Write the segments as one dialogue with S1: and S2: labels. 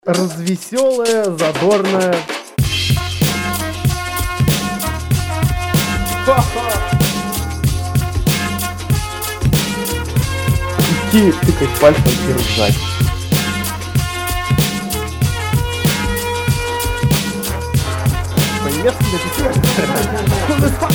S1: Развеселая, задорная. Идти тыкать пальцем и ржать. По-немецки написано.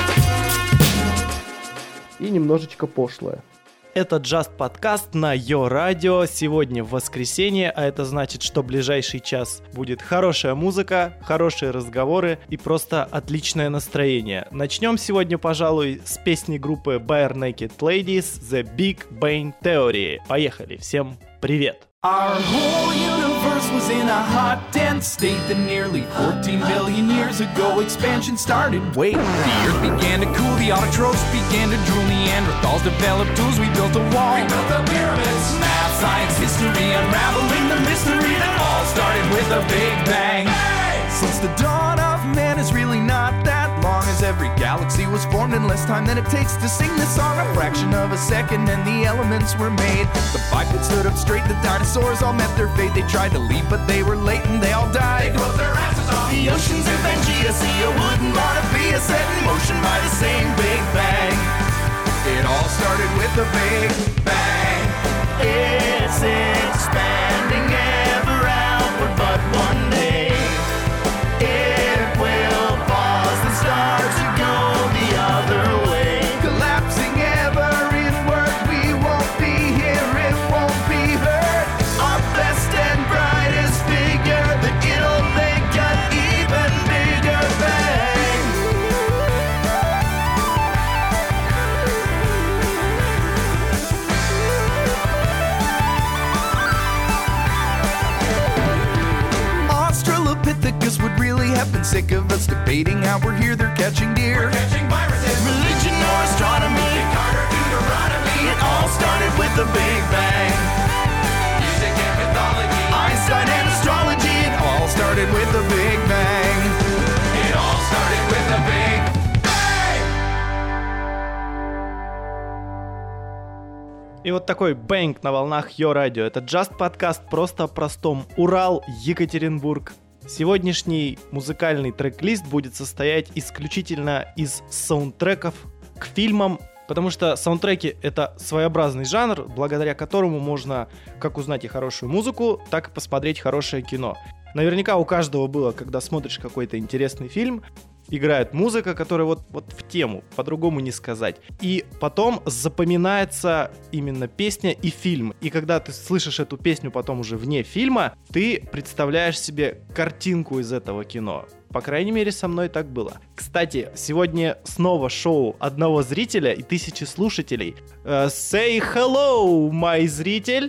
S1: И немножечко пошлое.
S2: Это Just подкаст на Йо Радио. Сегодня воскресенье, а это значит, что ближайший час будет хорошая музыка, хорошие разговоры и просто отличное настроение. Начнем сегодня, пожалуй, с песни группы Bare Naked Ladies The Big Bang Theory. Поехали, всем привет!
S3: Our whole universe was in a hot, dense state that nearly 14 billion years ago expansion started. Wait, the earth began to cool, the autotrophs began to drool, Neanderthals developed tools, we built a wall. We built the pyramids. Math, science, history, unraveling the mystery that all started with a big bang. Hey! Since the dawn of man is really not that long, as every galaxy was formed in less time than it takes to sing this song. A fraction of a second and the elements were made. The bipeds stood up straight, the dinosaurs all met their fate. They tried to leave but they were late and they all died. They closed their asses off. The oceans in Pangea, see you wouldn't want to be set in motion by the same Big Bang. It all started with a Big Bang. It's expanding ever outward, but one day it will pause and start to go the other way. Collapsing ever inward, we won't be here, it won't be heard. Our best and brightest figure, that it'll make an even bigger bang. Australopithecus would really have been sick of us debating how we're here, they're catching deer. We're catching viruses. Religion or astronomy, Carter, Deuteronomy. It all started with the Big Bang. Music and mythology, Einstein and astrology. It all started with the Big Bang. It all started with the Big Bang.
S2: И вот такой бэнг на волнах Йо Радио. Это Just подкаст просто о простом. Урал, Екатеринбург. Сегодняшний музыкальный трек-лист будет состоять исключительно из саундтреков к фильмам, потому что саундтреки — это своеобразный жанр, благодаря которому можно как узнать и хорошую музыку, так и посмотреть хорошее кино. Наверняка у каждого было, когда смотришь какой-то интересный фильм, играет музыка, которая вот в тему, по-другому не сказать. И потом запоминается именно песня и фильм. И когда ты слышишь эту песню потом уже вне фильма, ты представляешь себе картинку из этого кино. По крайней мере, со мной так было. Кстати, сегодня снова шоу одного зрителя и 1000 слушателей. Say hello, мой зритель!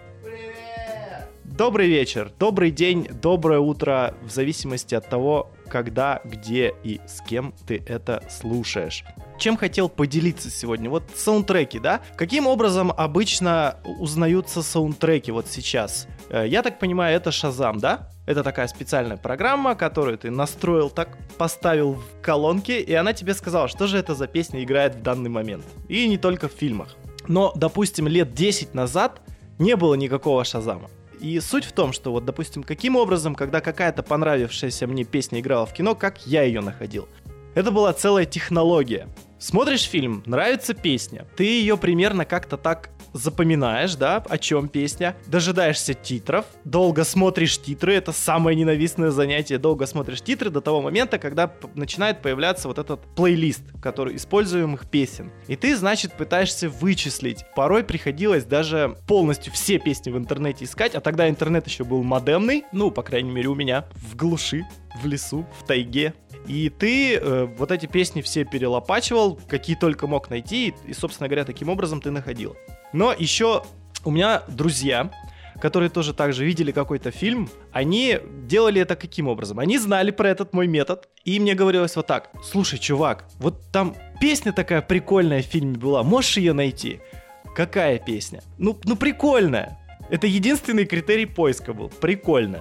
S2: Добрый вечер, добрый день, доброе утро, в зависимости от того, когда, где и с кем ты это слушаешь. Чем хотел поделиться сегодня? Вот саундтреки, да? Каким образом обычно узнаются саундтреки вот сейчас? Я так понимаю, это Shazam, да? Это такая специальная программа, которую ты настроил, так поставил в колонке, и она тебе сказала, что же это за песня играет в данный момент. И не только в фильмах. Но, допустим, лет 10 назад не было никакого Shazam'а. И суть в том, что вот, допустим, каким образом, когда какая-то понравившаяся мне песня играла в кино, как я ее находил. Это была целая технология. Смотришь фильм, нравится песня, ты ее примерно как-то так запоминаешь, да, о чем песня, дожидаешься титров, долго смотришь титры, это самое ненавистное занятие, долго смотришь титры до того момента, когда начинает появляться вот этот плейлист, который используемых песен. И ты, значит, пытаешься вычислить. Порой приходилось даже полностью все песни в интернете искать, а тогда интернет еще был модемный, ну, по крайней мере, у меня, в глуши, в лесу, в тайге. И ты вот эти песни все перелопачивал, какие только мог найти, и, собственно говоря, таким образом ты находил. Но еще у меня друзья, которые тоже так же видели какой-то фильм, они делали это каким образом? Они знали про этот мой метод, и мне говорилось вот так: слушай, чувак, вот там песня такая прикольная в фильме была, можешь ее найти? Какая песня? Ну прикольная. Это единственный критерий поиска был, прикольная.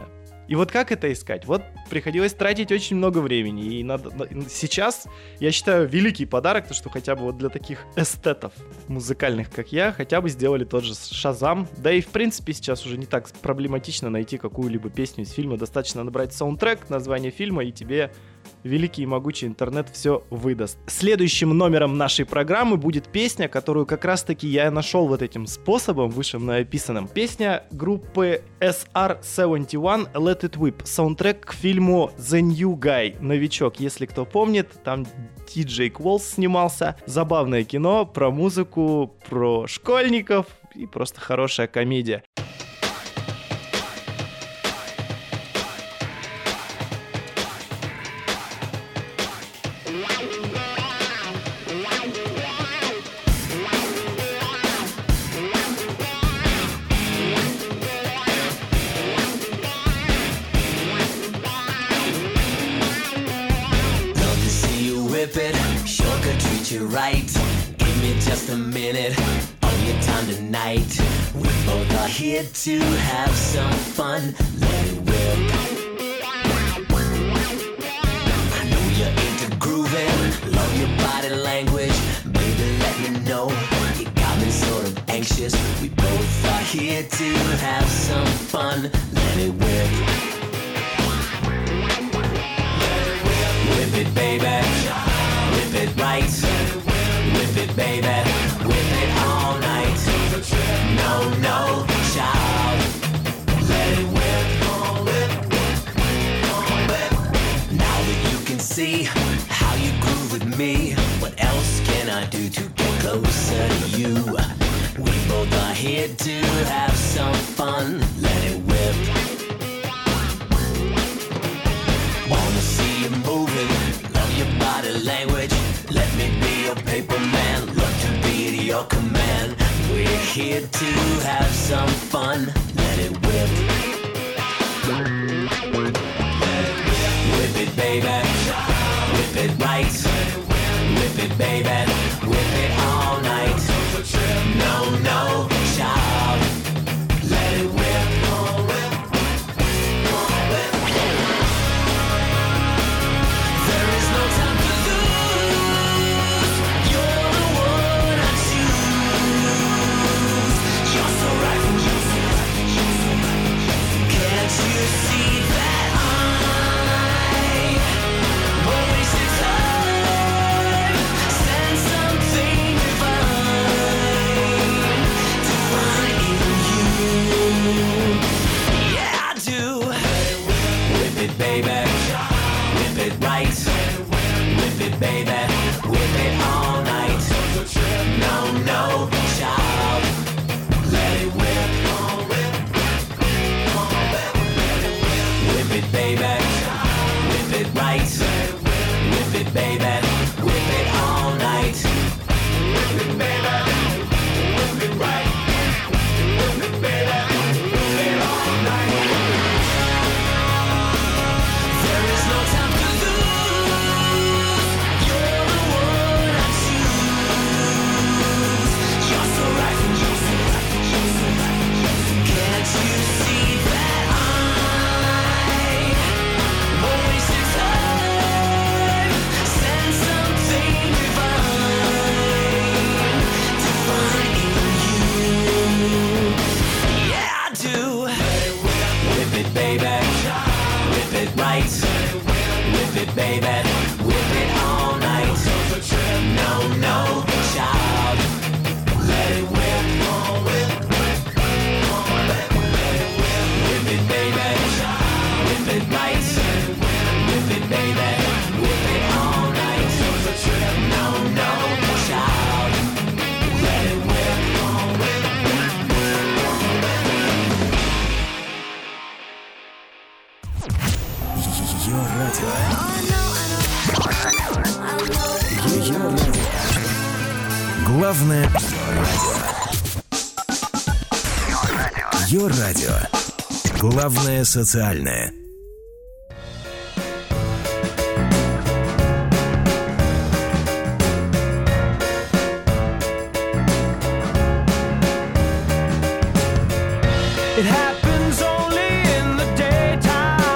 S2: И вот как это искать? Вот приходилось тратить очень много времени. И сейчас, я считаю, великий подарок, то, что хотя бы вот для таких эстетов музыкальных, как я, хотя бы сделали тот же Shazam. Да и, в принципе, сейчас уже не так проблематично найти какую-либо песню из фильма. Достаточно набрать саундтрек, название фильма, и тебе великий и могучий интернет все выдаст. Следующим номером нашей программы будет песня, которую как раз-таки я нашел вот этим способом, выше мной описанным. Песня группы SR-71 Let It Whip. Саундтрек к фильму The New Guy. Новичок, если кто помнит, там Диджей Кволс снимался. Забавное кино про музыку, про школьников и просто хорошая комедия.
S4: Right, give me just a minute of your time tonight. We both are here to have some fun. Let it whip. I know you're into grooving, love your body language. Baby, let me know. You got me sort of anxious. We both are here to have some fun. Let it whip. Whip it, baby. Whip it right. Whip it, baby. Whip it all night. No, no, child. Let it whip. Now that you can see how you groove with me, what else can I do to get closer to you? We both are here to have some fun. Let it whip. Wanna see you moving, love your body language. Let me be your paper man, love to be at your command. We're here to have some fun. Let it whip. Whip it, baby. Whip it right. Whip it, baby. Whip it all night. No, no, child. Let it whip. There is no time to lose. You're the one I choose. You're so right. Can't you see that I won't waste your time? Send something divine to find in you. Yeah, I do. Whip it, baby. Whip it right. Whip it, baby. Whip it all night. No, no, child. Let it whip. Whip it, baby. Whip it right. Whip it, baby. Whip it all night. Whip it, baby. Whip it right. Whip it, baby. Whip it all night. There is no time to lose. You're the one I choose. You're so right. Can't you see that I won't waste your time? Send something divine to find in you. Yeah, I do. Whip it, baby. Whip it right. Whip it, baby. Whip it all night. No, no, child. Let it whip. Whip it, baby. Whip it right. Whip it, baby. Whip it all night. No, no, child. Let it whip.
S5: Ее радио. Ее радио. Главное радио. Ее радио. Главное социальное.
S3: It happens only in the daytime.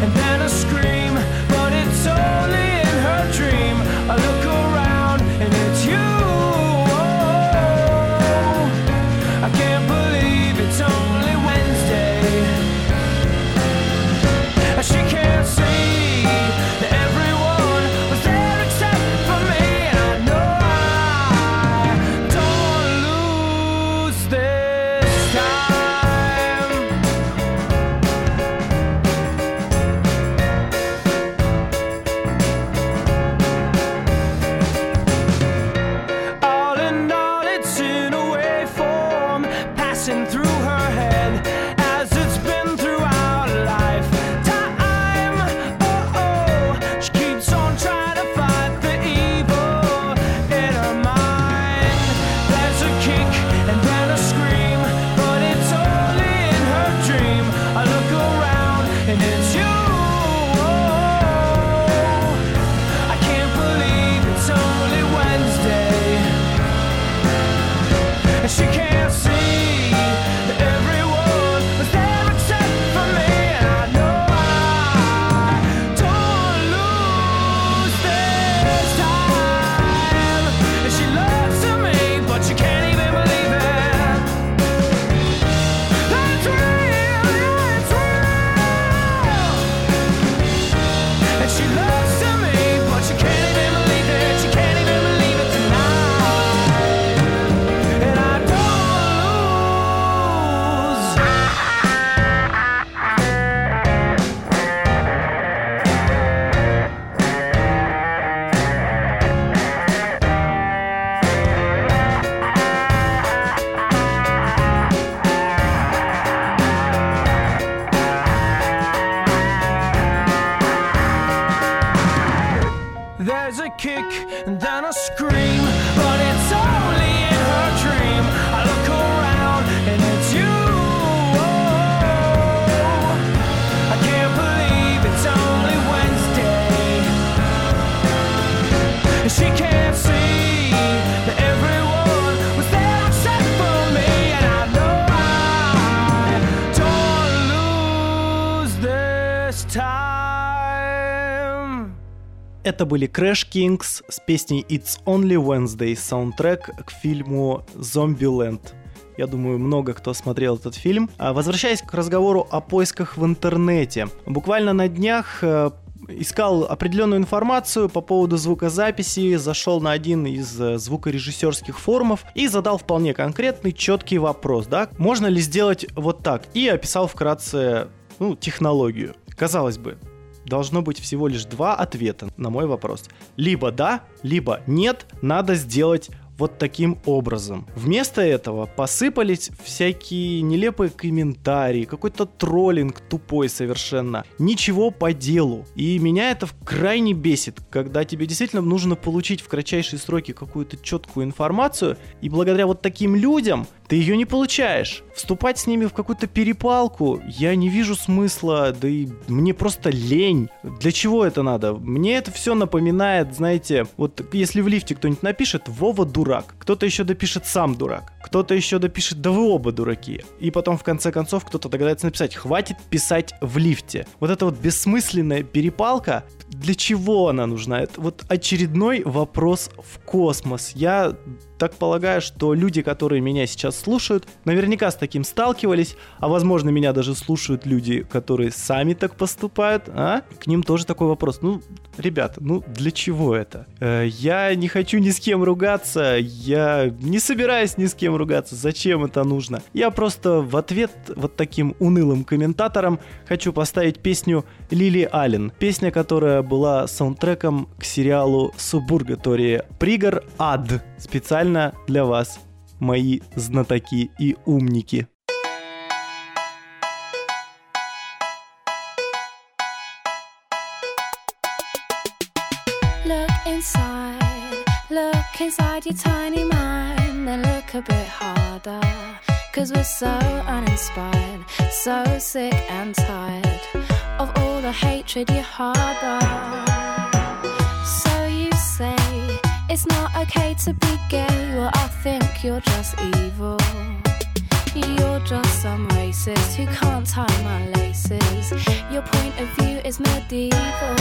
S3: and then a scream, but it's only in her dream. I look around and it's you. I can't believe it's only Wednesday. She can't see that everyone was there except for me, and I know I don't lose this time. All in all, it's in a waveform passing through her head as it's been throughout life. She keeps on trying to fight the evil in her mind. There's a kick and then a scream, but it's only in her dream. I look around and it's you. I can't believe it's only Wednesday. And she can't see that everyone was there except for me, and I know I don't lose this time. And she loves me, but she can't even believe it. That's real, yeah, it's real. And she loves me, but she can't even believe it. She can't even believe it tonight. And I don't lose. There's a kick and then a scream, but it's only in her dream. I look around and it's you. I can't believe it's only Wednesday. She can't see that everyone was there except for me, and I know I don't lose this time.
S2: Это были Crash Kings с песней It's Only Wednesday, саундтрек к фильму Zombieland. Я думаю, много кто смотрел этот фильм. Возвращаясь к разговору о поисках в интернете. Буквально на днях искал определенную информацию по поводу звукозаписи, зашел на один из звукорежиссерских форумов и задал вполне конкретный, четкий вопрос, да, можно ли сделать вот так, и описал вкратце, технологию. Казалось бы, должно быть всего лишь два ответа на мой вопрос. Либо да, либо нет, надо сделать вот таким образом. Вместо этого посыпались всякие нелепые комментарии, какой-то троллинг тупой совершенно. Ничего по делу. И меня это крайне бесит, когда тебе действительно нужно получить в кратчайшие сроки какую-то четкую информацию, и благодаря вот таким людям ты ее не получаешь. Вступать с ними в какую-то перепалку я не вижу смысла, да и мне просто лень. Для чего это надо? Мне это все напоминает, знаете, вот если в лифте кто-нибудь напишет «Вова дурак», кто-то еще допишет «Сам дурак», кто-то еще допишет «Да вы оба дураки», и потом в конце концов кто-то догадается написать «Хватит писать в лифте». Вот эта вот бессмысленная перепалка, для чего она нужна? Это вот очередной вопрос в космос. Я так полагаю, что люди, которые меня сейчас слушают, наверняка с таким сталкивались, а возможно, меня даже слушают люди, которые сами так поступают, а? К ним тоже такой вопрос. Ребята, для чего это? Я не хочу ни с кем ругаться, я не собираюсь ни с кем ругаться, зачем это нужно? Я просто в ответ вот таким унылым комментаторам хочу поставить песню Лили Аллен. Песня, которая была саундтреком к сериалу «Субургатория». Пригор ад. Специально для вас, мои знатоки и умники.
S6: Look inside your tiny mind, then look a bit harder. 'Cause we're so uninspired, so sick and tired of all the hatred you harbor. So you say it's not okay to be gay, well I think you're just evil. You're just some racist who can't tie my laces. Your point of view is medieval.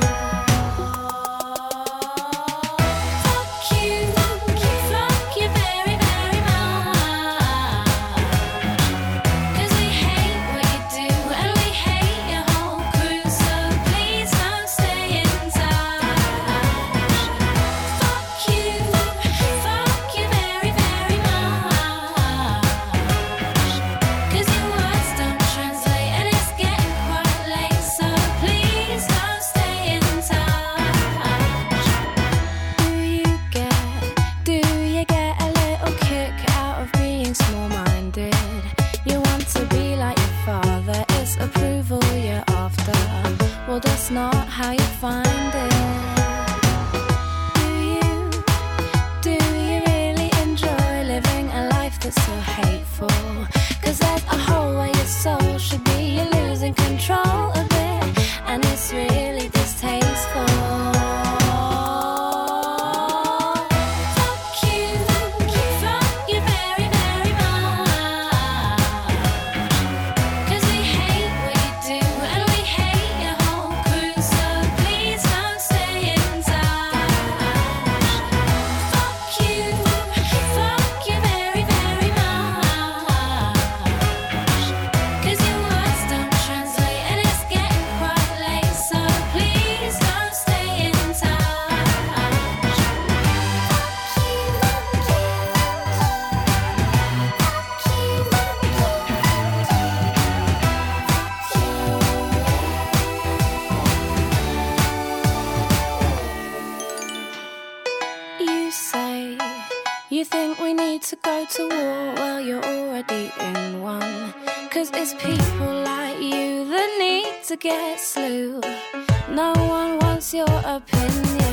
S6: Fuck you very, very much. 'Cause we hate what you do and we hate your whole crew. So please don't stay in touch. Fuck you very, very much. 'Cause your words don't translate and it's getting quite late. So please don't stay in touch. Do you get a little kick out of being small-minded? You want to be like your father, it's approval you're after. Well, that's not how you find it. Do you really enjoy living a life that's so hateful? 'Cause there's a hole where your soul should be. You're losing control of it, and it's really distasteful. Fuck you very, very much. 'Cause we hate what you do and we hate your whole crew. So please don't stay in touch. Fuck you very, very much. 'Cause your words don't translate and it's getting quite late. So please don't stay in touch. You say you think we need to go to war. Well, you're already in one. 'Cause it's people like you that need to get slew. No one wants your opinion.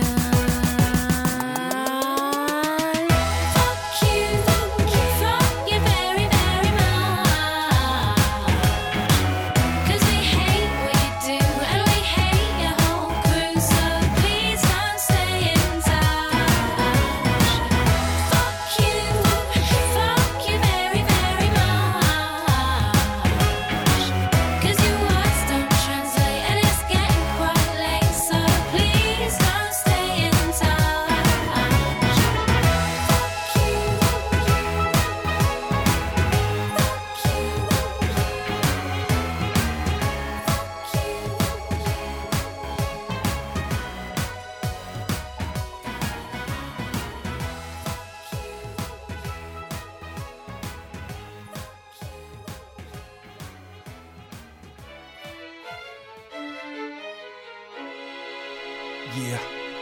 S6: Fuck you very, very much. 'Cause we hate what you do and we hate your whole crew. So please don't stay in touch. Fuck you very, very much. 'Cause your words don't translate and it's getting quite late. So please don't stay in touch.
S3: Yeah,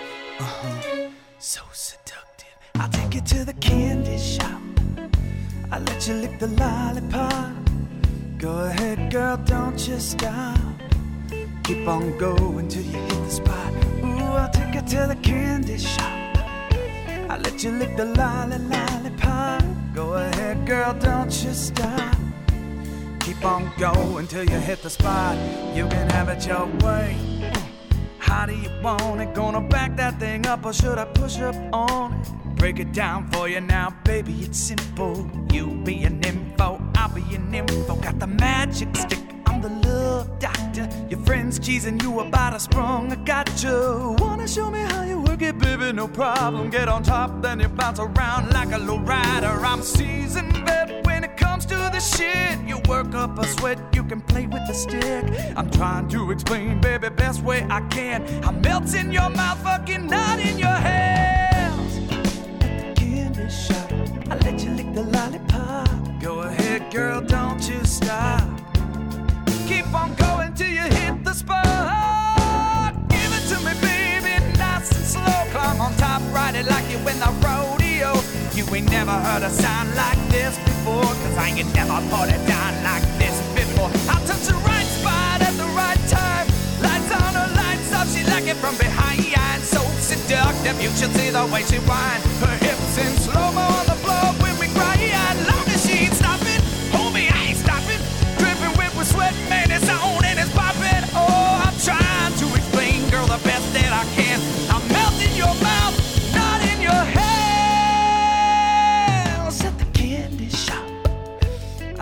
S3: so seductive. I'll take you to the candy shop. I'll let you lick the lollipop. Go ahead, girl, don't you stop. Keep on going till you hit the spot. Ooh, I'll take you to the candy shop. I'll let you lick the lollipop. Go ahead, girl, don't you stop. Keep on going till you hit the spot. You can have it your way. How do you want it? Gonna back that thing up or should I push up on it? Break it down for you now, baby, it's simple. You be an info, I'll be an info. Got the magic stick, I'm the love doctor. Your friend's teasing you about a sprung, I got you. Wanna show me how you work it, baby? No problem. Get on top, then you bounce around like a low rider. I'm seasoned vet when it comes to the shit. You work up a sweat, you can play with the stick. I'm trying to explain, baby, best way I can. I'm melting your mouth, fucking not in your hands. At the candy shop, I let you lick the lollipop. Go ahead, girl, don't you stop. Keep on going till you hit the spot. Give it to me, baby, nice and slow. Climb on top, ride it like you win the rodeo. You ain't never heard a sound like this before, 'cause I ain't never put it down like this before. I'll touch the right spot at the right time. Lights on her, lights off, she like it from behind. So seductive, you should see the way she whine. Her hips in slow-mo on the floor when we cry. Long as she ain't stopping, homie, I ain't stopping. Dripping wet with sweat, man, it's on and it's popping. Oh, I'm trying to explain, girl, the best that I can. I'm melting your mouth, not in your hands. At the candy shop,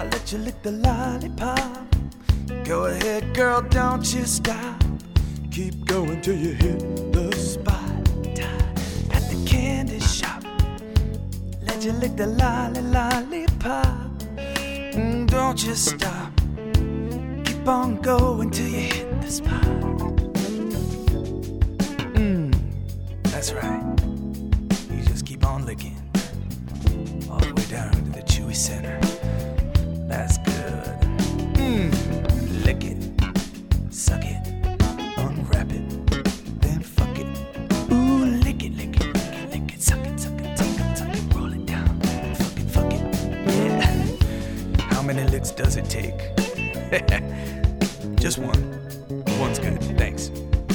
S3: the lollipop. Go ahead, girl, don't you stop. Keep going till you hit the spot. At the candy shop, let you lick the lollipop. Don't you stop. Keep on going till you hit the spot. That's right. You just keep on licking all the way down to the chewy center. That's good. Lick it, suck it, unwrap it, then fuck it. Ooh, lick it, lick it, lick it, lick it, suck it, suck it, suck it, suck it, roll it down, fuck it, yeah. How many licks does it take? Just one. One's good, thanks.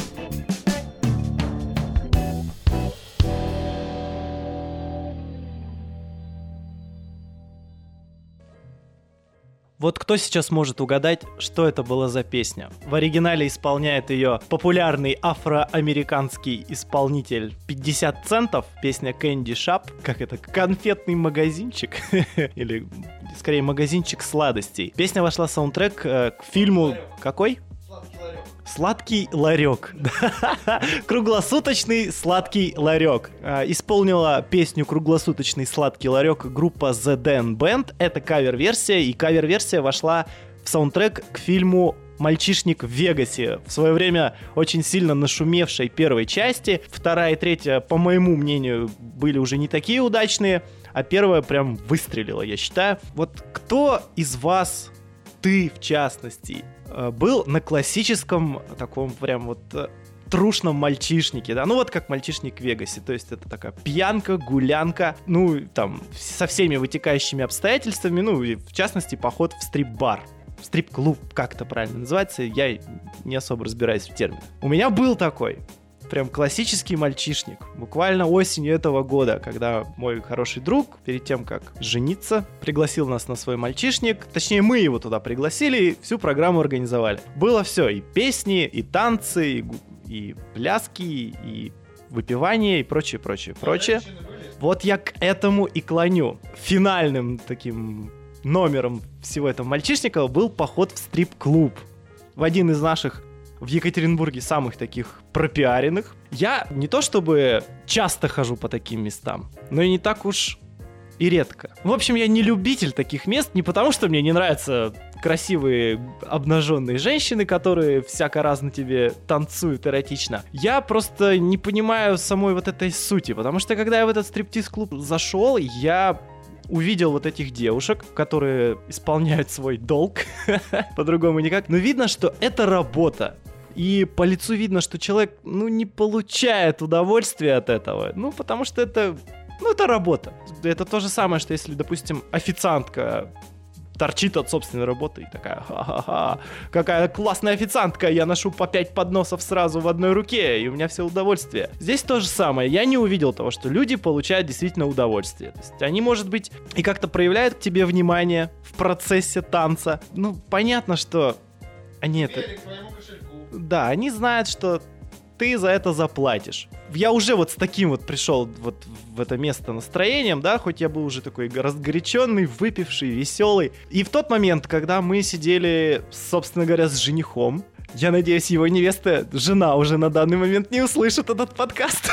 S2: Вот кто сейчас может угадать, что это была за песня? В оригинале исполняет ее популярный афроамериканский исполнитель 50 центов. Песня Candy Shop. Как это? Конфетный магазинчик? Или, скорее, магазинчик сладостей. Песня вошла в саундтрек к фильму... Какой? Сладкий ларек. Круглосуточный сладкий ларек. Исполнила песню «Круглосуточный сладкий ларек» группа The Dan Band. Это кавер-версия, и кавер-версия вошла в саундтрек к фильму «Мальчишник в Вегасе». В свое время очень сильно нашумевшей первой части. Вторая и третья, по моему мнению, были уже не такие удачные, а первая прям выстрелила, я считаю. Вот кто из вас, ты в частности, был на классическом таком прям вот трушном мальчишнике, да, ну вот как мальчишник в Вегасе, то есть это такая пьянка, гулянка, ну там со всеми вытекающими обстоятельствами, ну и в частности поход в стрип-бар, в стрип-клуб, как это правильно называется, я не особо разбираюсь в терминах. У меня был такой прям классический мальчишник. Буквально осенью этого года, когда мой хороший друг, перед тем, как жениться, пригласил нас на свой мальчишник. Точнее, мы его туда пригласили и всю программу организовали. Было все. И песни, и танцы, и пляски, и выпивание, и прочее. Вот я к этому и клоню. Финальным таким номером всего этого мальчишника был поход в стрип-клуб. В один из наших в Екатеринбурге самых таких пропиаренных. Я не то чтобы часто хожу по таким местам, но и не так уж и редко. В общем, я не любитель таких мест, не потому что мне не нравятся красивые обнаженные женщины, которые всяко-разно тебе танцуют эротично. Я просто не понимаю самой вот этой сути, потому что когда я в этот стриптиз-клуб зашел, я увидел вот этих девушек, которые исполняют свой долг, по-другому никак, но видно, что это работа. И по лицу видно, что человек, не получает удовольствия от этого. Потому что это работа. Это то же самое, что если, допустим, официантка торчит от собственной работы и такая: ха-ха-ха, какая классная официантка, я ношу по 5 подносов сразу в одной руке, и у меня все удовольствие. Здесь то же самое. Я не увидел того, что люди получают действительно удовольствие. То есть они, может быть, и как-то проявляют к тебе внимание в процессе танца. Понятно, что они это... Да, они знают, что ты за это заплатишь. Я уже вот с таким вот пришел вот в это место настроением, да, хоть я был уже такой разгоряченный, выпивший, веселый. И в тот момент, когда мы сидели, собственно говоря, с женихом, я надеюсь, его невеста, жена уже на данный момент не услышит этот подкаст.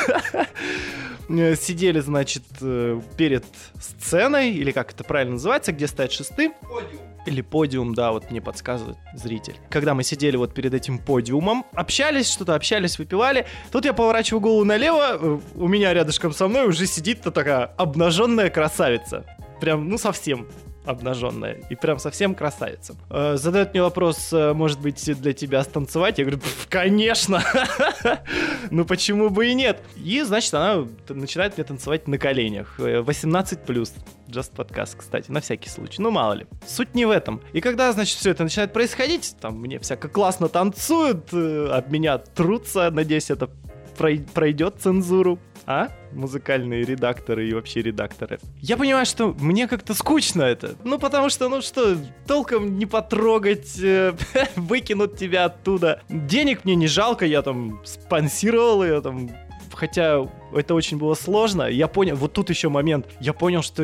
S2: Сидели, значит, перед сценой, или как это правильно называется, где стоят шесты. Или подиум, да, вот мне подсказывает зритель. Когда мы сидели вот перед этим подиумом, общались, выпивали. Тут я поворачиваю голову налево, у меня рядышком со мной уже сидит такая обнаженная красавица. Прям, совсем обнаженная. И прям совсем красавица. Задает мне вопрос: может быть, для тебя станцевать? Я говорю: конечно! Почему бы и нет? И, значит, она начинает мне танцевать на коленях. 18+. Just подкаст, кстати, на всякий случай. Мало ли. Суть не в этом. И когда, значит, все это начинает происходить, там мне всяко классно танцуют, об меня трутся, надеюсь, это пройдет цензуру. Музыкальные редакторы и вообще редакторы. Я понимаю, что мне как-то скучно это. Потому что, толком не потрогать, выкинут тебя оттуда. Денег мне не жалко, я там спонсировал ее, там хотя это очень было сложно, я понял, вот тут еще момент, я понял, что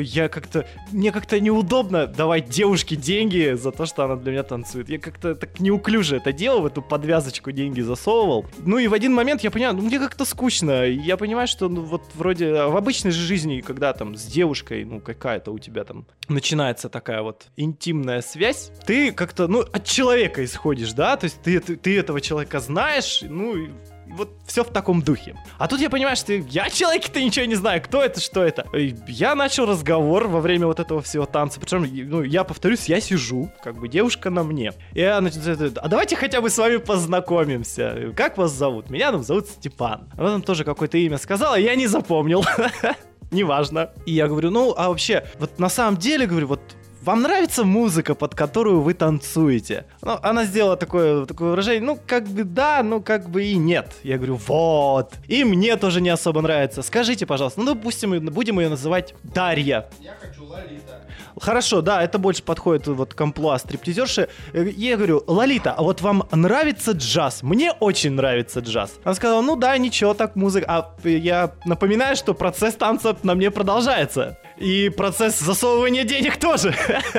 S2: мне как-то неудобно давать девушке деньги за то, что она для меня танцует. Я как-то так неуклюже это делал, в эту подвязочку деньги засовывал. Ну и в один момент я понял, мне как-то скучно. Я понимаю, что вот вроде в обычной же жизни, когда там с девушкой, какая-то у тебя там начинается такая вот интимная связь, ты как-то, от человека исходишь, да, то есть ты этого человека знаешь, и вот все в таком духе. А тут я понимаю, что я о человеке-то ничего не знаю, кто это, что это. И я начал разговор во время вот этого всего танца. Причем, я повторюсь, я сижу, как бы девушка на мне. И я начинаю, а давайте хотя бы с вами познакомимся. Как вас зовут? Меня зовут Степан. Она там тоже какое-то имя сказала, я не запомнил. Неважно. И я говорю, а вообще, вот на самом деле, говорю, вот вам нравится музыка, под которую вы танцуете? Она сделала такое выражение, как бы да, как бы и нет. Я говорю, вот. И мне тоже не особо нравится. Скажите, пожалуйста, допустим, будем ее называть Дарья.
S7: Я хочу Лолита.
S2: Хорошо, да, это больше подходит вот к амплуа стриптизерши. Я говорю, Лолита, а вот вам нравится джаз? Мне очень нравится джаз. Она сказала, да, ничего, так музыка. А я напоминаю, что процесс танца на мне продолжается. И процесс засовывания денег тоже.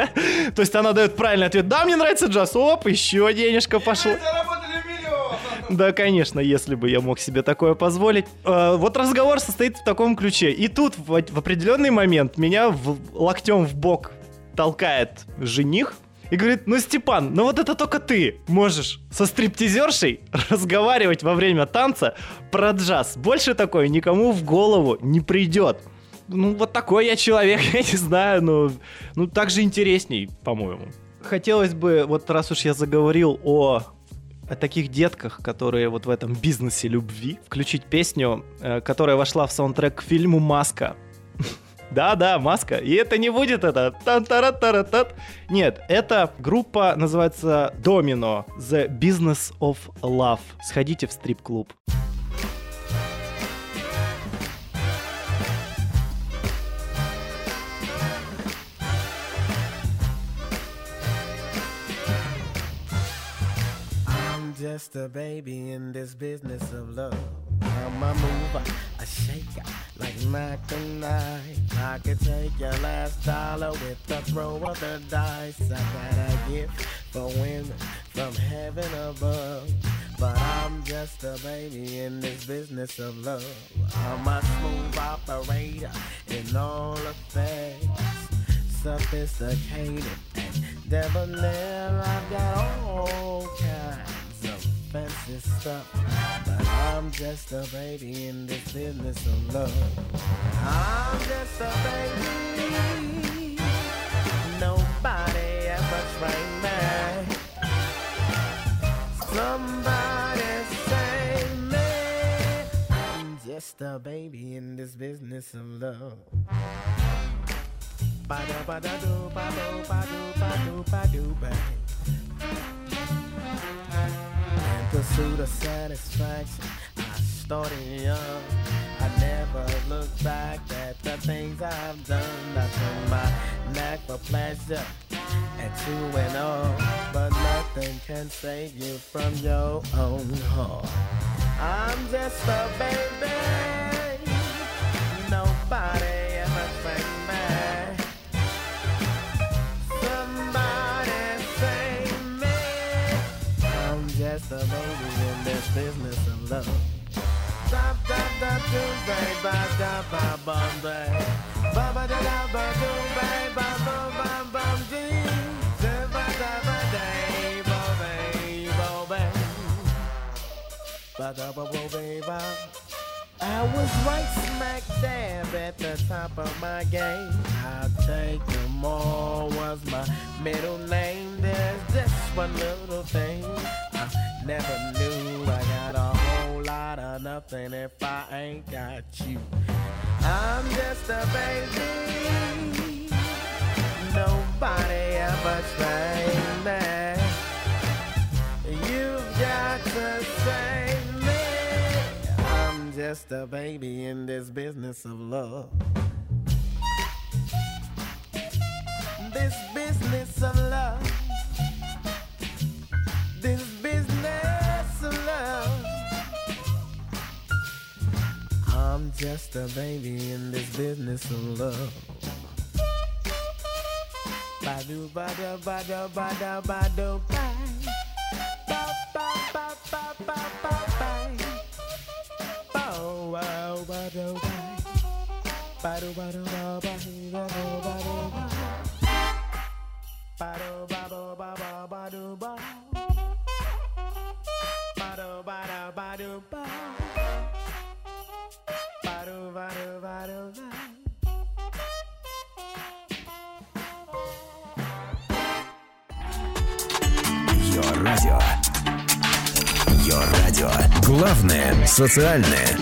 S2: То есть она дает правильный ответ. Да, мне нравится джаз. Оп, еще денежка пошла.
S7: Заработали миллион.
S2: Да, конечно, если бы я мог себе такое позволить. Вот разговор состоит в таком ключе. И тут в определенный момент меня локтем в бок толкает жених и говорит, Степан, вот это только ты можешь со стриптизершей разговаривать во время танца про джаз. Больше такое никому в голову не придет. Вот такой я человек, я не знаю, так же интересней, по-моему. Хотелось бы, вот раз уж я заговорил о таких детках, которые вот в этом бизнесе любви, включить песню, которая вошла в саундтрек к фильму «Маска». Да-да, «Маска». И это не будет это тан-тара-тара-тат. Нет, эта группа называется Domino, The Business of Love. Сходите в стрип-клуб.
S8: Just a baby in this business of love. I'm a mover, a shaker, like Mackinac. I could take your last dollar with the throw of the dice. I got a gift for women from heaven above. But I'm just a baby in this business of love. I'm a smooth operator in all affairs. Sophisticated and debonair. I've got all kinds fancy stuff, but I'm just a baby in this business of love. I'm just a baby, nobody ever trained me. Somebody save me. I'm just a baby in this business of love. Ba-da-ba-da-do, ba-do, ba-do, ba-do, ba-do, pursuit of satisfaction, I started young. I never look back at the things I've done. I turned my knack for pleasure and to and all, but nothing can save you from your own heart. I'm just a baby, nobody ever trained me. Somebody save me. I'm just a baby in this business of love. Stop, stop, stop, do, baby, stop, ba, bum, baby. Ba, ba, da, da, ba, do, baby, ba, bum, bum, bum, dee. Da, ba, da, ba, day, bo, baby, bo, baby. Ba, da, ba, bo, baby. I was right smack dab at the top of my game. I'll take them all was my middle name. There's just one little thing I never knew. I got a whole lot of nothing if I ain't got you. I'm just a baby, nobody ever trained me. You've got to save me. I'm just a baby in this business of love. This business of love. This business of love. just a baby in this business of love. Ba-do, ba-da, ba-da, ba-da, ba-do, bye. Ba-ba-ba-ba-ba-ba-bye. Bow, wow, ba-do, bye. Ba-do, ba-do, ba-ba-dee, ba-do, ba-do, bye. Ba-do, ba-do, ba-ba, ba-do, bye. Ba-do, ba-da, ba-do, bye. Ba-do, ba-do, ba-do, bye.
S5: Йо-радио. Йо-радио. Главное социальное.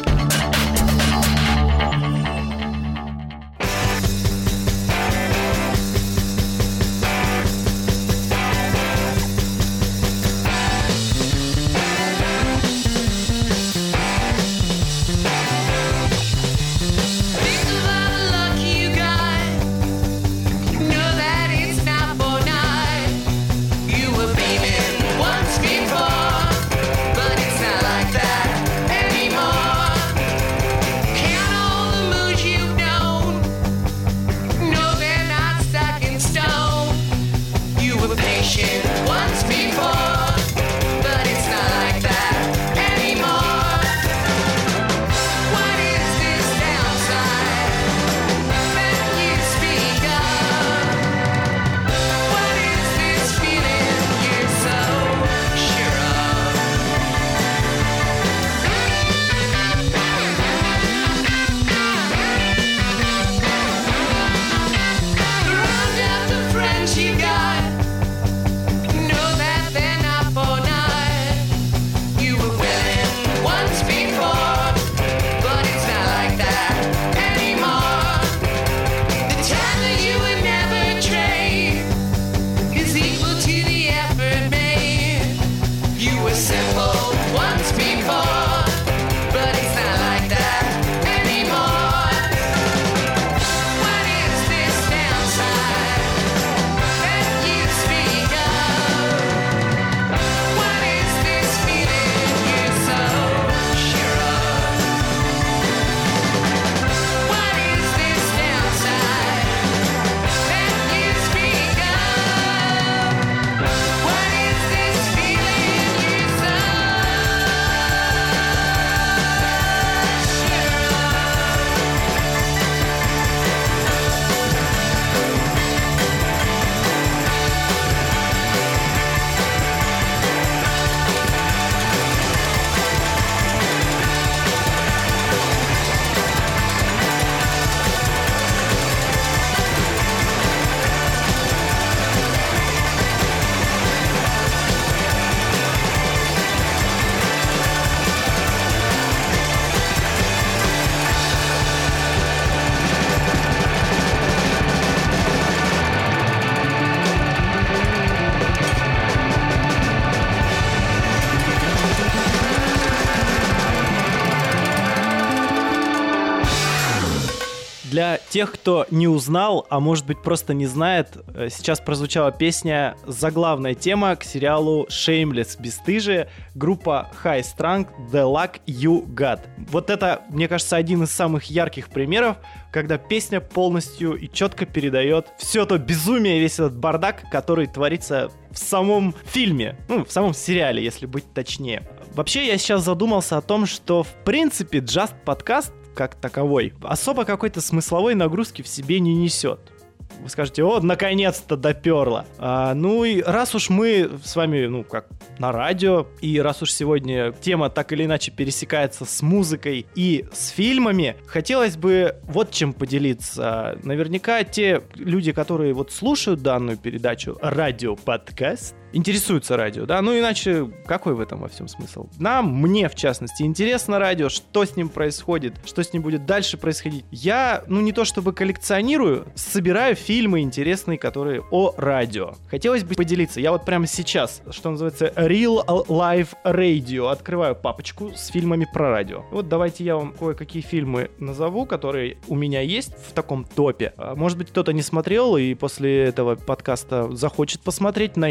S2: Для тех, кто не узнал, а может быть просто не знает, сейчас прозвучала песня, заглавная тема к сериалу Shameless, бесстыжие, группа High Strung, The Luck You Got. Вот это, мне кажется, один из самых ярких примеров, когда песня полностью и четко передает все то безумие, весь этот бардак, который творится в самом фильме, ну, в самом сериале, если быть точнее. Вообще, я сейчас задумался о том, что, в принципе, Just Podcast как таковой особо какой-то смысловой нагрузки в себе не несет. Вы скажете, о, наконец-то доперло. Ну и раз уж мы с вами, ну, как на радио, и раз уж сегодня тема так или иначе пересекается с музыкой и с фильмами, хотелось бы вот чем поделиться. Наверняка те люди, которые вот слушают данную передачу, радио-подкаст, интересуются радио, да, ну иначе какой в этом во всем смысл? Мне в частности интересно радио, что с ним происходит, что с ним будет дальше происходить. Я, ну не то чтобы коллекционирую, собираю фильмы интересные, которые о радио. Хотелось бы поделиться, я вот прямо сейчас, что называется, Real Life Radio, открываю папочку с фильмами про радио. Вот давайте я вам кое-какие фильмы назову, которые у меня есть в таком топе. Может быть, кто-то не смотрел и после этого подкаста захочет посмотреть, найдет его.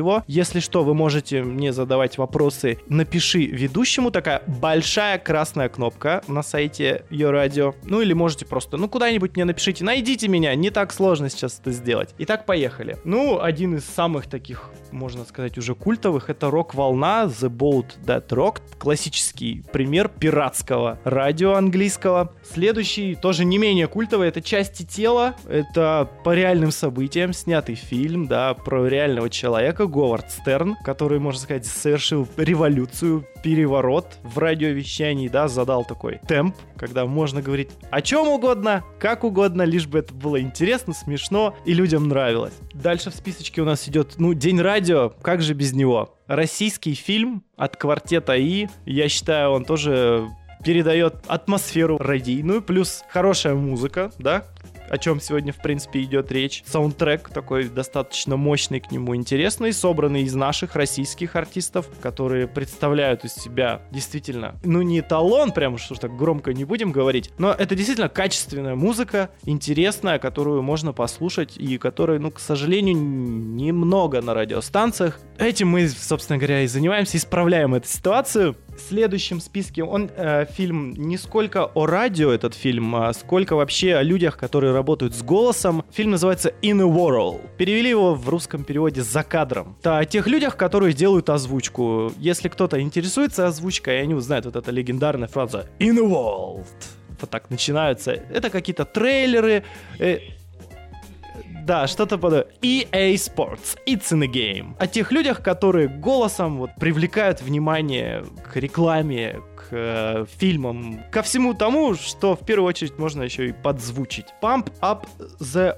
S2: него. Если что, вы можете мне задавать вопросы. Напиши ведущему, такая большая красная кнопка на сайте Ее Радио. Ну или можете просто, куда-нибудь мне напишите. Найдите меня, не так сложно сейчас это сделать. Итак, поехали. Один из самых таких, можно сказать, уже культовых, это рок-волна The Boat That Rocked. Классический пример пиратского радио английского. Следующий, тоже не менее культовый, это «Части тела». Это по реальным событиям снятый фильм, да, про реального человека, Говард Стерн, который, можно сказать, совершил революцию, переворот в радиовещании, да, задал такой темп, когда можно говорить о чем угодно, как угодно, лишь бы это было интересно, смешно и людям нравилось. Дальше в списочке у нас идет, День радио, как же без него? Российский фильм от квартета И, я считаю, он тоже передает атмосферу радийную, плюс хорошая музыка, да, о чем сегодня, в принципе, идет речь. Саундтрек такой достаточно мощный к нему, интересный, собранный из наших российских артистов, которые представляют из себя действительно, не эталон, прям что ж так громко не будем говорить, но это действительно качественная музыка, интересная, которую можно послушать и которой, к сожалению, немного на радиостанциях. Этим мы, собственно говоря, и занимаемся, исправляем эту ситуацию. В следующем списке фильм не сколько о радио, этот фильм, а сколько вообще о людях, которые работают с голосом. Фильм называется In a World. Перевели его в русском переводе «За кадром». Это о тех людях, которые делают озвучку. Если кто-то интересуется озвучкой, они узнают вот эта легендарная фраза In a World. Вот так начинаются. Это какие-то трейлеры. Да, что-то подобное. EA Sports. It's in a game. О тех людях, которые голосом привлекают внимание к рекламе, к фильмам, ко всему тому, что в первую очередь можно еще и подзвучить. Pump Up the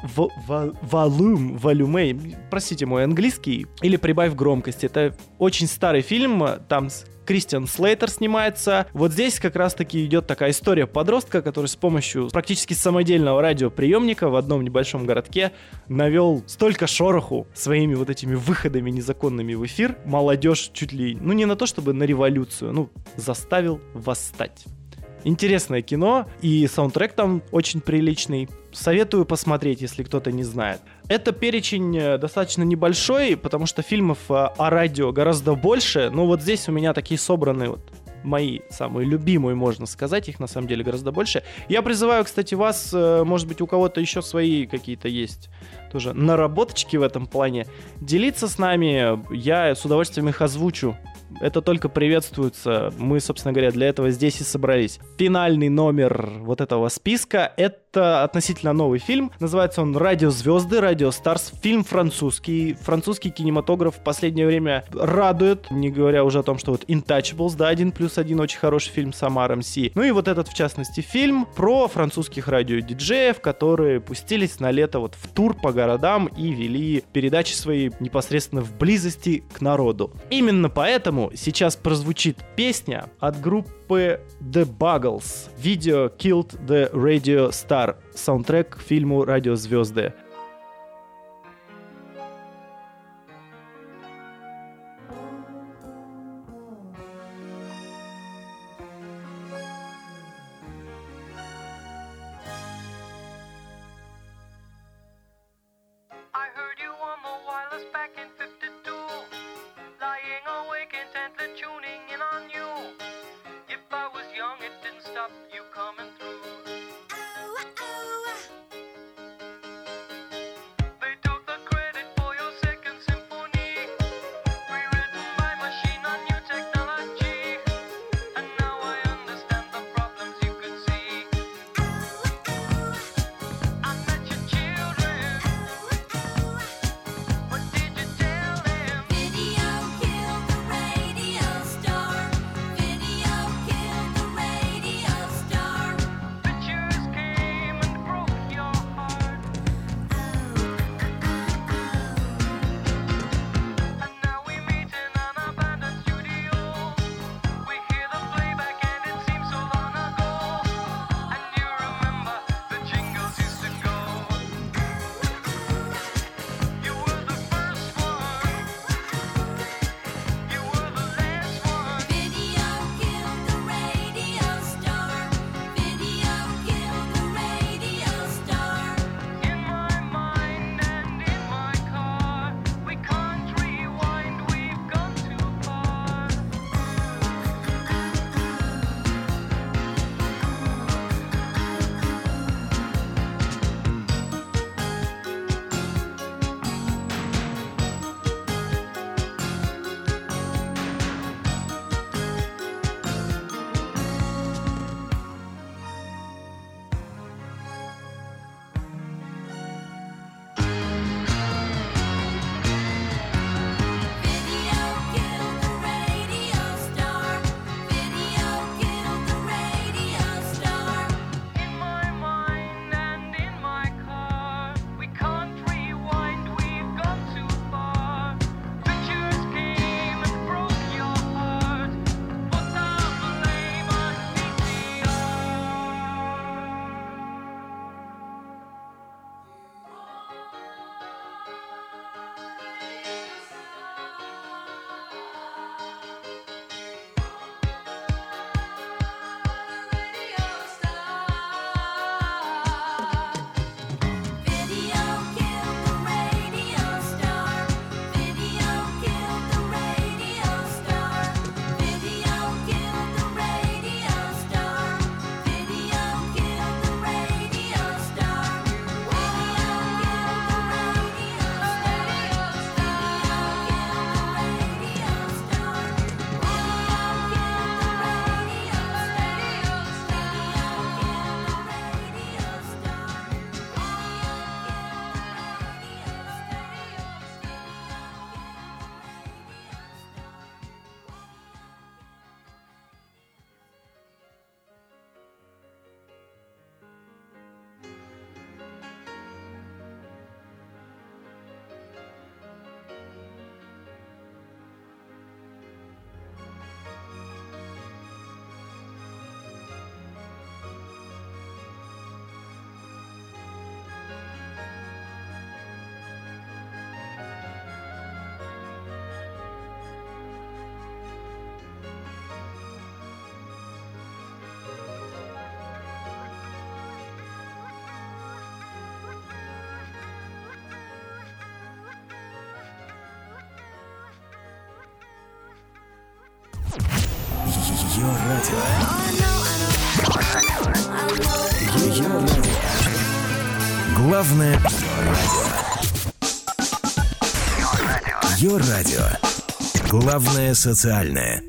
S2: Volume. Простите мой английский. Или Прибавь громкость. Это очень старый фильм. Там Кристиан Слейтер снимается. Вот здесь как раз-таки идет такая история подростка, который с помощью практически самодельного радиоприемника в одном небольшом городке навел столько шороху своими вот этими выходами незаконными в эфир. Молодежь чуть ли, не на то чтобы на революцию, заставил восстать. Интересное кино, и саундтрек там очень приличный. Советую посмотреть, если кто-то не знает. Это перечень достаточно небольшой, потому что фильмов о радио гораздо больше. Но вот здесь у меня такие собраны мои самые любимые, можно сказать. Их на самом деле гораздо больше. Я призываю, кстати, вас, может быть, у кого-то еще свои какие-то есть тоже наработочки в этом плане, делиться с нами. Я с удовольствием их озвучу. Это только приветствуется. Мы, собственно говоря, для этого здесь и собрались. Финальный номер вот этого списка — это относительно новый фильм. Называется он «Радиозвезды», «Радио Старс». Фильм французский. Французский кинематограф в последнее время радует. Не говоря уже о том, что Intouchables, да, 1+1, очень хороший фильм с Омар МС. Ну и вот этот, в частности, фильм про французских радиодиджеев, которые пустились на лето в тур по городам и вели передачи свои непосредственно в близости к народу. Именно поэтому сейчас прозвучит песня от группы The Buggles. Video Killed the Radio Star. Саундтрек к фильму «Радиозвезды».
S6: You coming through. Oh, oh.
S5: Ее радио. Ее радио. Главное радио. Ее радио. Главное социальное.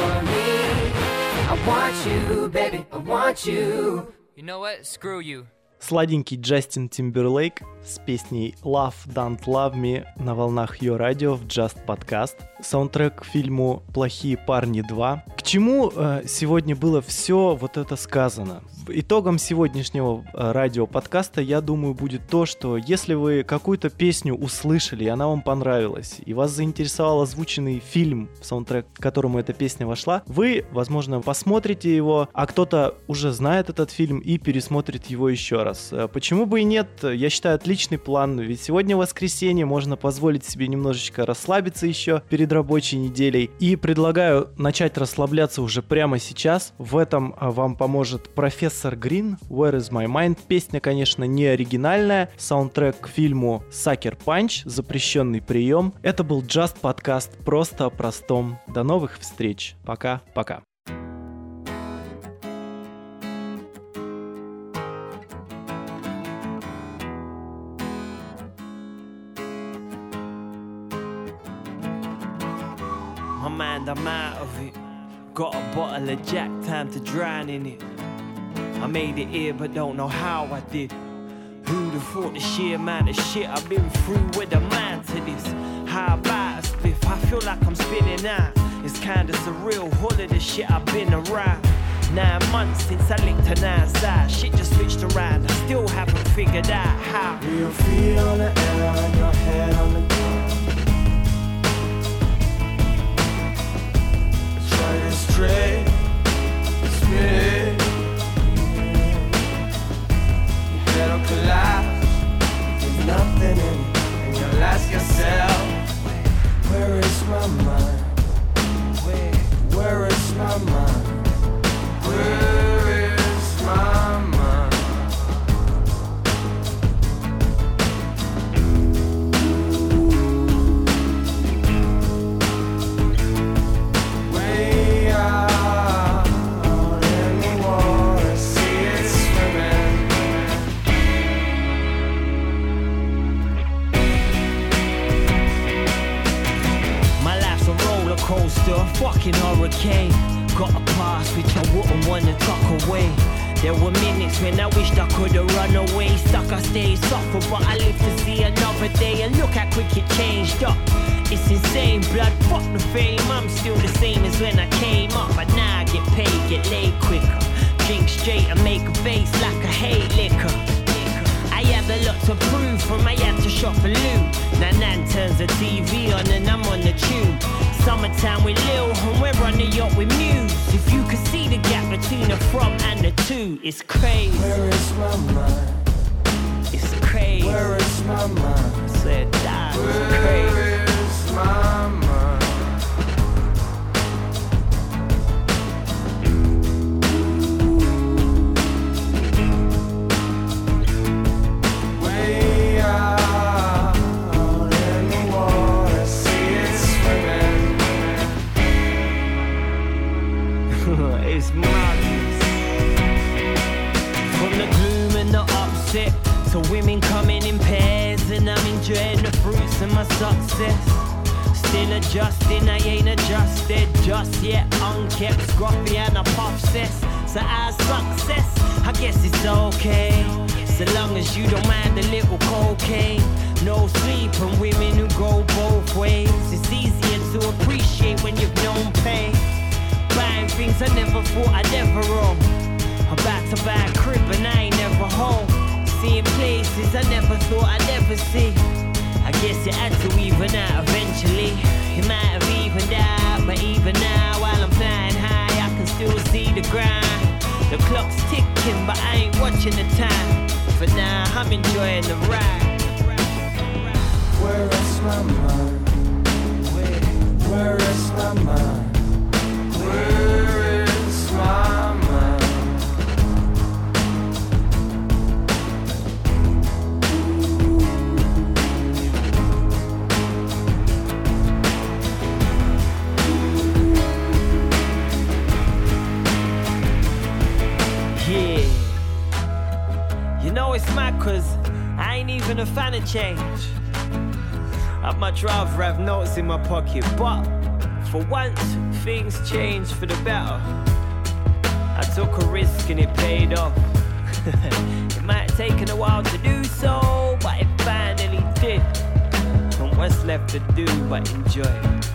S9: You know what? Screw you.
S2: Сладенький Джастин Тимберлейк с песней Love Don't Love Me на волнах Ее Радио в Just Podcast. Саундтрек к фильму «Плохие парни 2». К чему сегодня было все вот это сказано? Итогом сегодняшнего радиоподкаста, я думаю, будет то, что если вы какую-то песню услышали, и она вам понравилась, и вас заинтересовал озвученный фильм, саундтрек, к которому эта песня вошла, вы, возможно, посмотрите его, а кто-то уже знает этот фильм и пересмотрит его еще раз. Почему бы и нет? Я считаю, отличный план, ведь сегодня воскресенье, можно позволить себе немножечко расслабиться еще перед рабочей неделей. И предлагаю начать расслабляться уже прямо сейчас. В этом вам поможет профессор Грин, Where is my mind? Песня, конечно, не оригинальная. Саундтрек к фильму Sucker Punch, запрещенный прием. Это был Just Podcast, просто о простом. До новых встреч. Пока-пока.
S8: My mind, I'm out of it. Got a bottle of Jack, time to drown in it. I made it here, but don't know how I did. Who'd have thought the sheer amount of shit I've been through with a man to this? How about a spliff? I feel like I'm spinning out. It's kinda surreal, all of the shit I've been around. 9 months since I linked to outside. Shit just switched around, I still haven't figured out how. Real feet on the air and your head on the ground. Try to straight, spin. It'll collapse, there's nothing in it. And you'll ask yourself, where is my mind? Where is my mind? Where is my mind? Way out in the water, see it swimming. My life's a roller coaster, a fucking hurricane. Got a past which I wouldn't wanna tuck away. There were minutes when I wished I could've run away. Stuck, I stayed suffer, but I live to see another day. And look how quick it changed up. It's insane, blood, fuck the fame. I'm still the same as when I came up. But now I get paid, get laid quicker. Drink straight and make a face like I hate liquor. I had a lot to prove from I had to shop for loot. Now Nan turns the TV on and I'm on the tube. Summertime with Lil and we're on the yacht with Muse. If you could see the gap between the from and the to, it's crazy. Where is my mind? It's crazy. Where is my mind? Said that. It's crazy. Where is my mind? Way out in the water, see it swimming. It's madness. From the gloom and the upset to women coming in pairs, and I'm enjoying the fruits of my success. Still adjusting, I ain't adjusted just yet. Unkept, scruffy and a puff cess. So our success, I guess it's okay. So long as you don't mind a little cocaine. No sleep and women who go both ways. It's easier to appreciate when you've known pain. Buying things I never thought I'd ever own. About to buy a crib and I ain't never home. Seeing places I never thought I'd ever see. I guess it had to even out eventually. It might have evened out, but even now while I'm flying high I can still see the grind. The clock's ticking but I ain't watching the time. For now I'm enjoying the ride. Where is my mind? Where is my mind? Where is my mind? Yeah. You know it's mad cause I ain't even a fan of change. I'd much rather have notes in my pocket, but for once, things changed for the better. I took a risk and it paid off. It might have taken a while to do so, but it finally did. And what's left to do but enjoy it?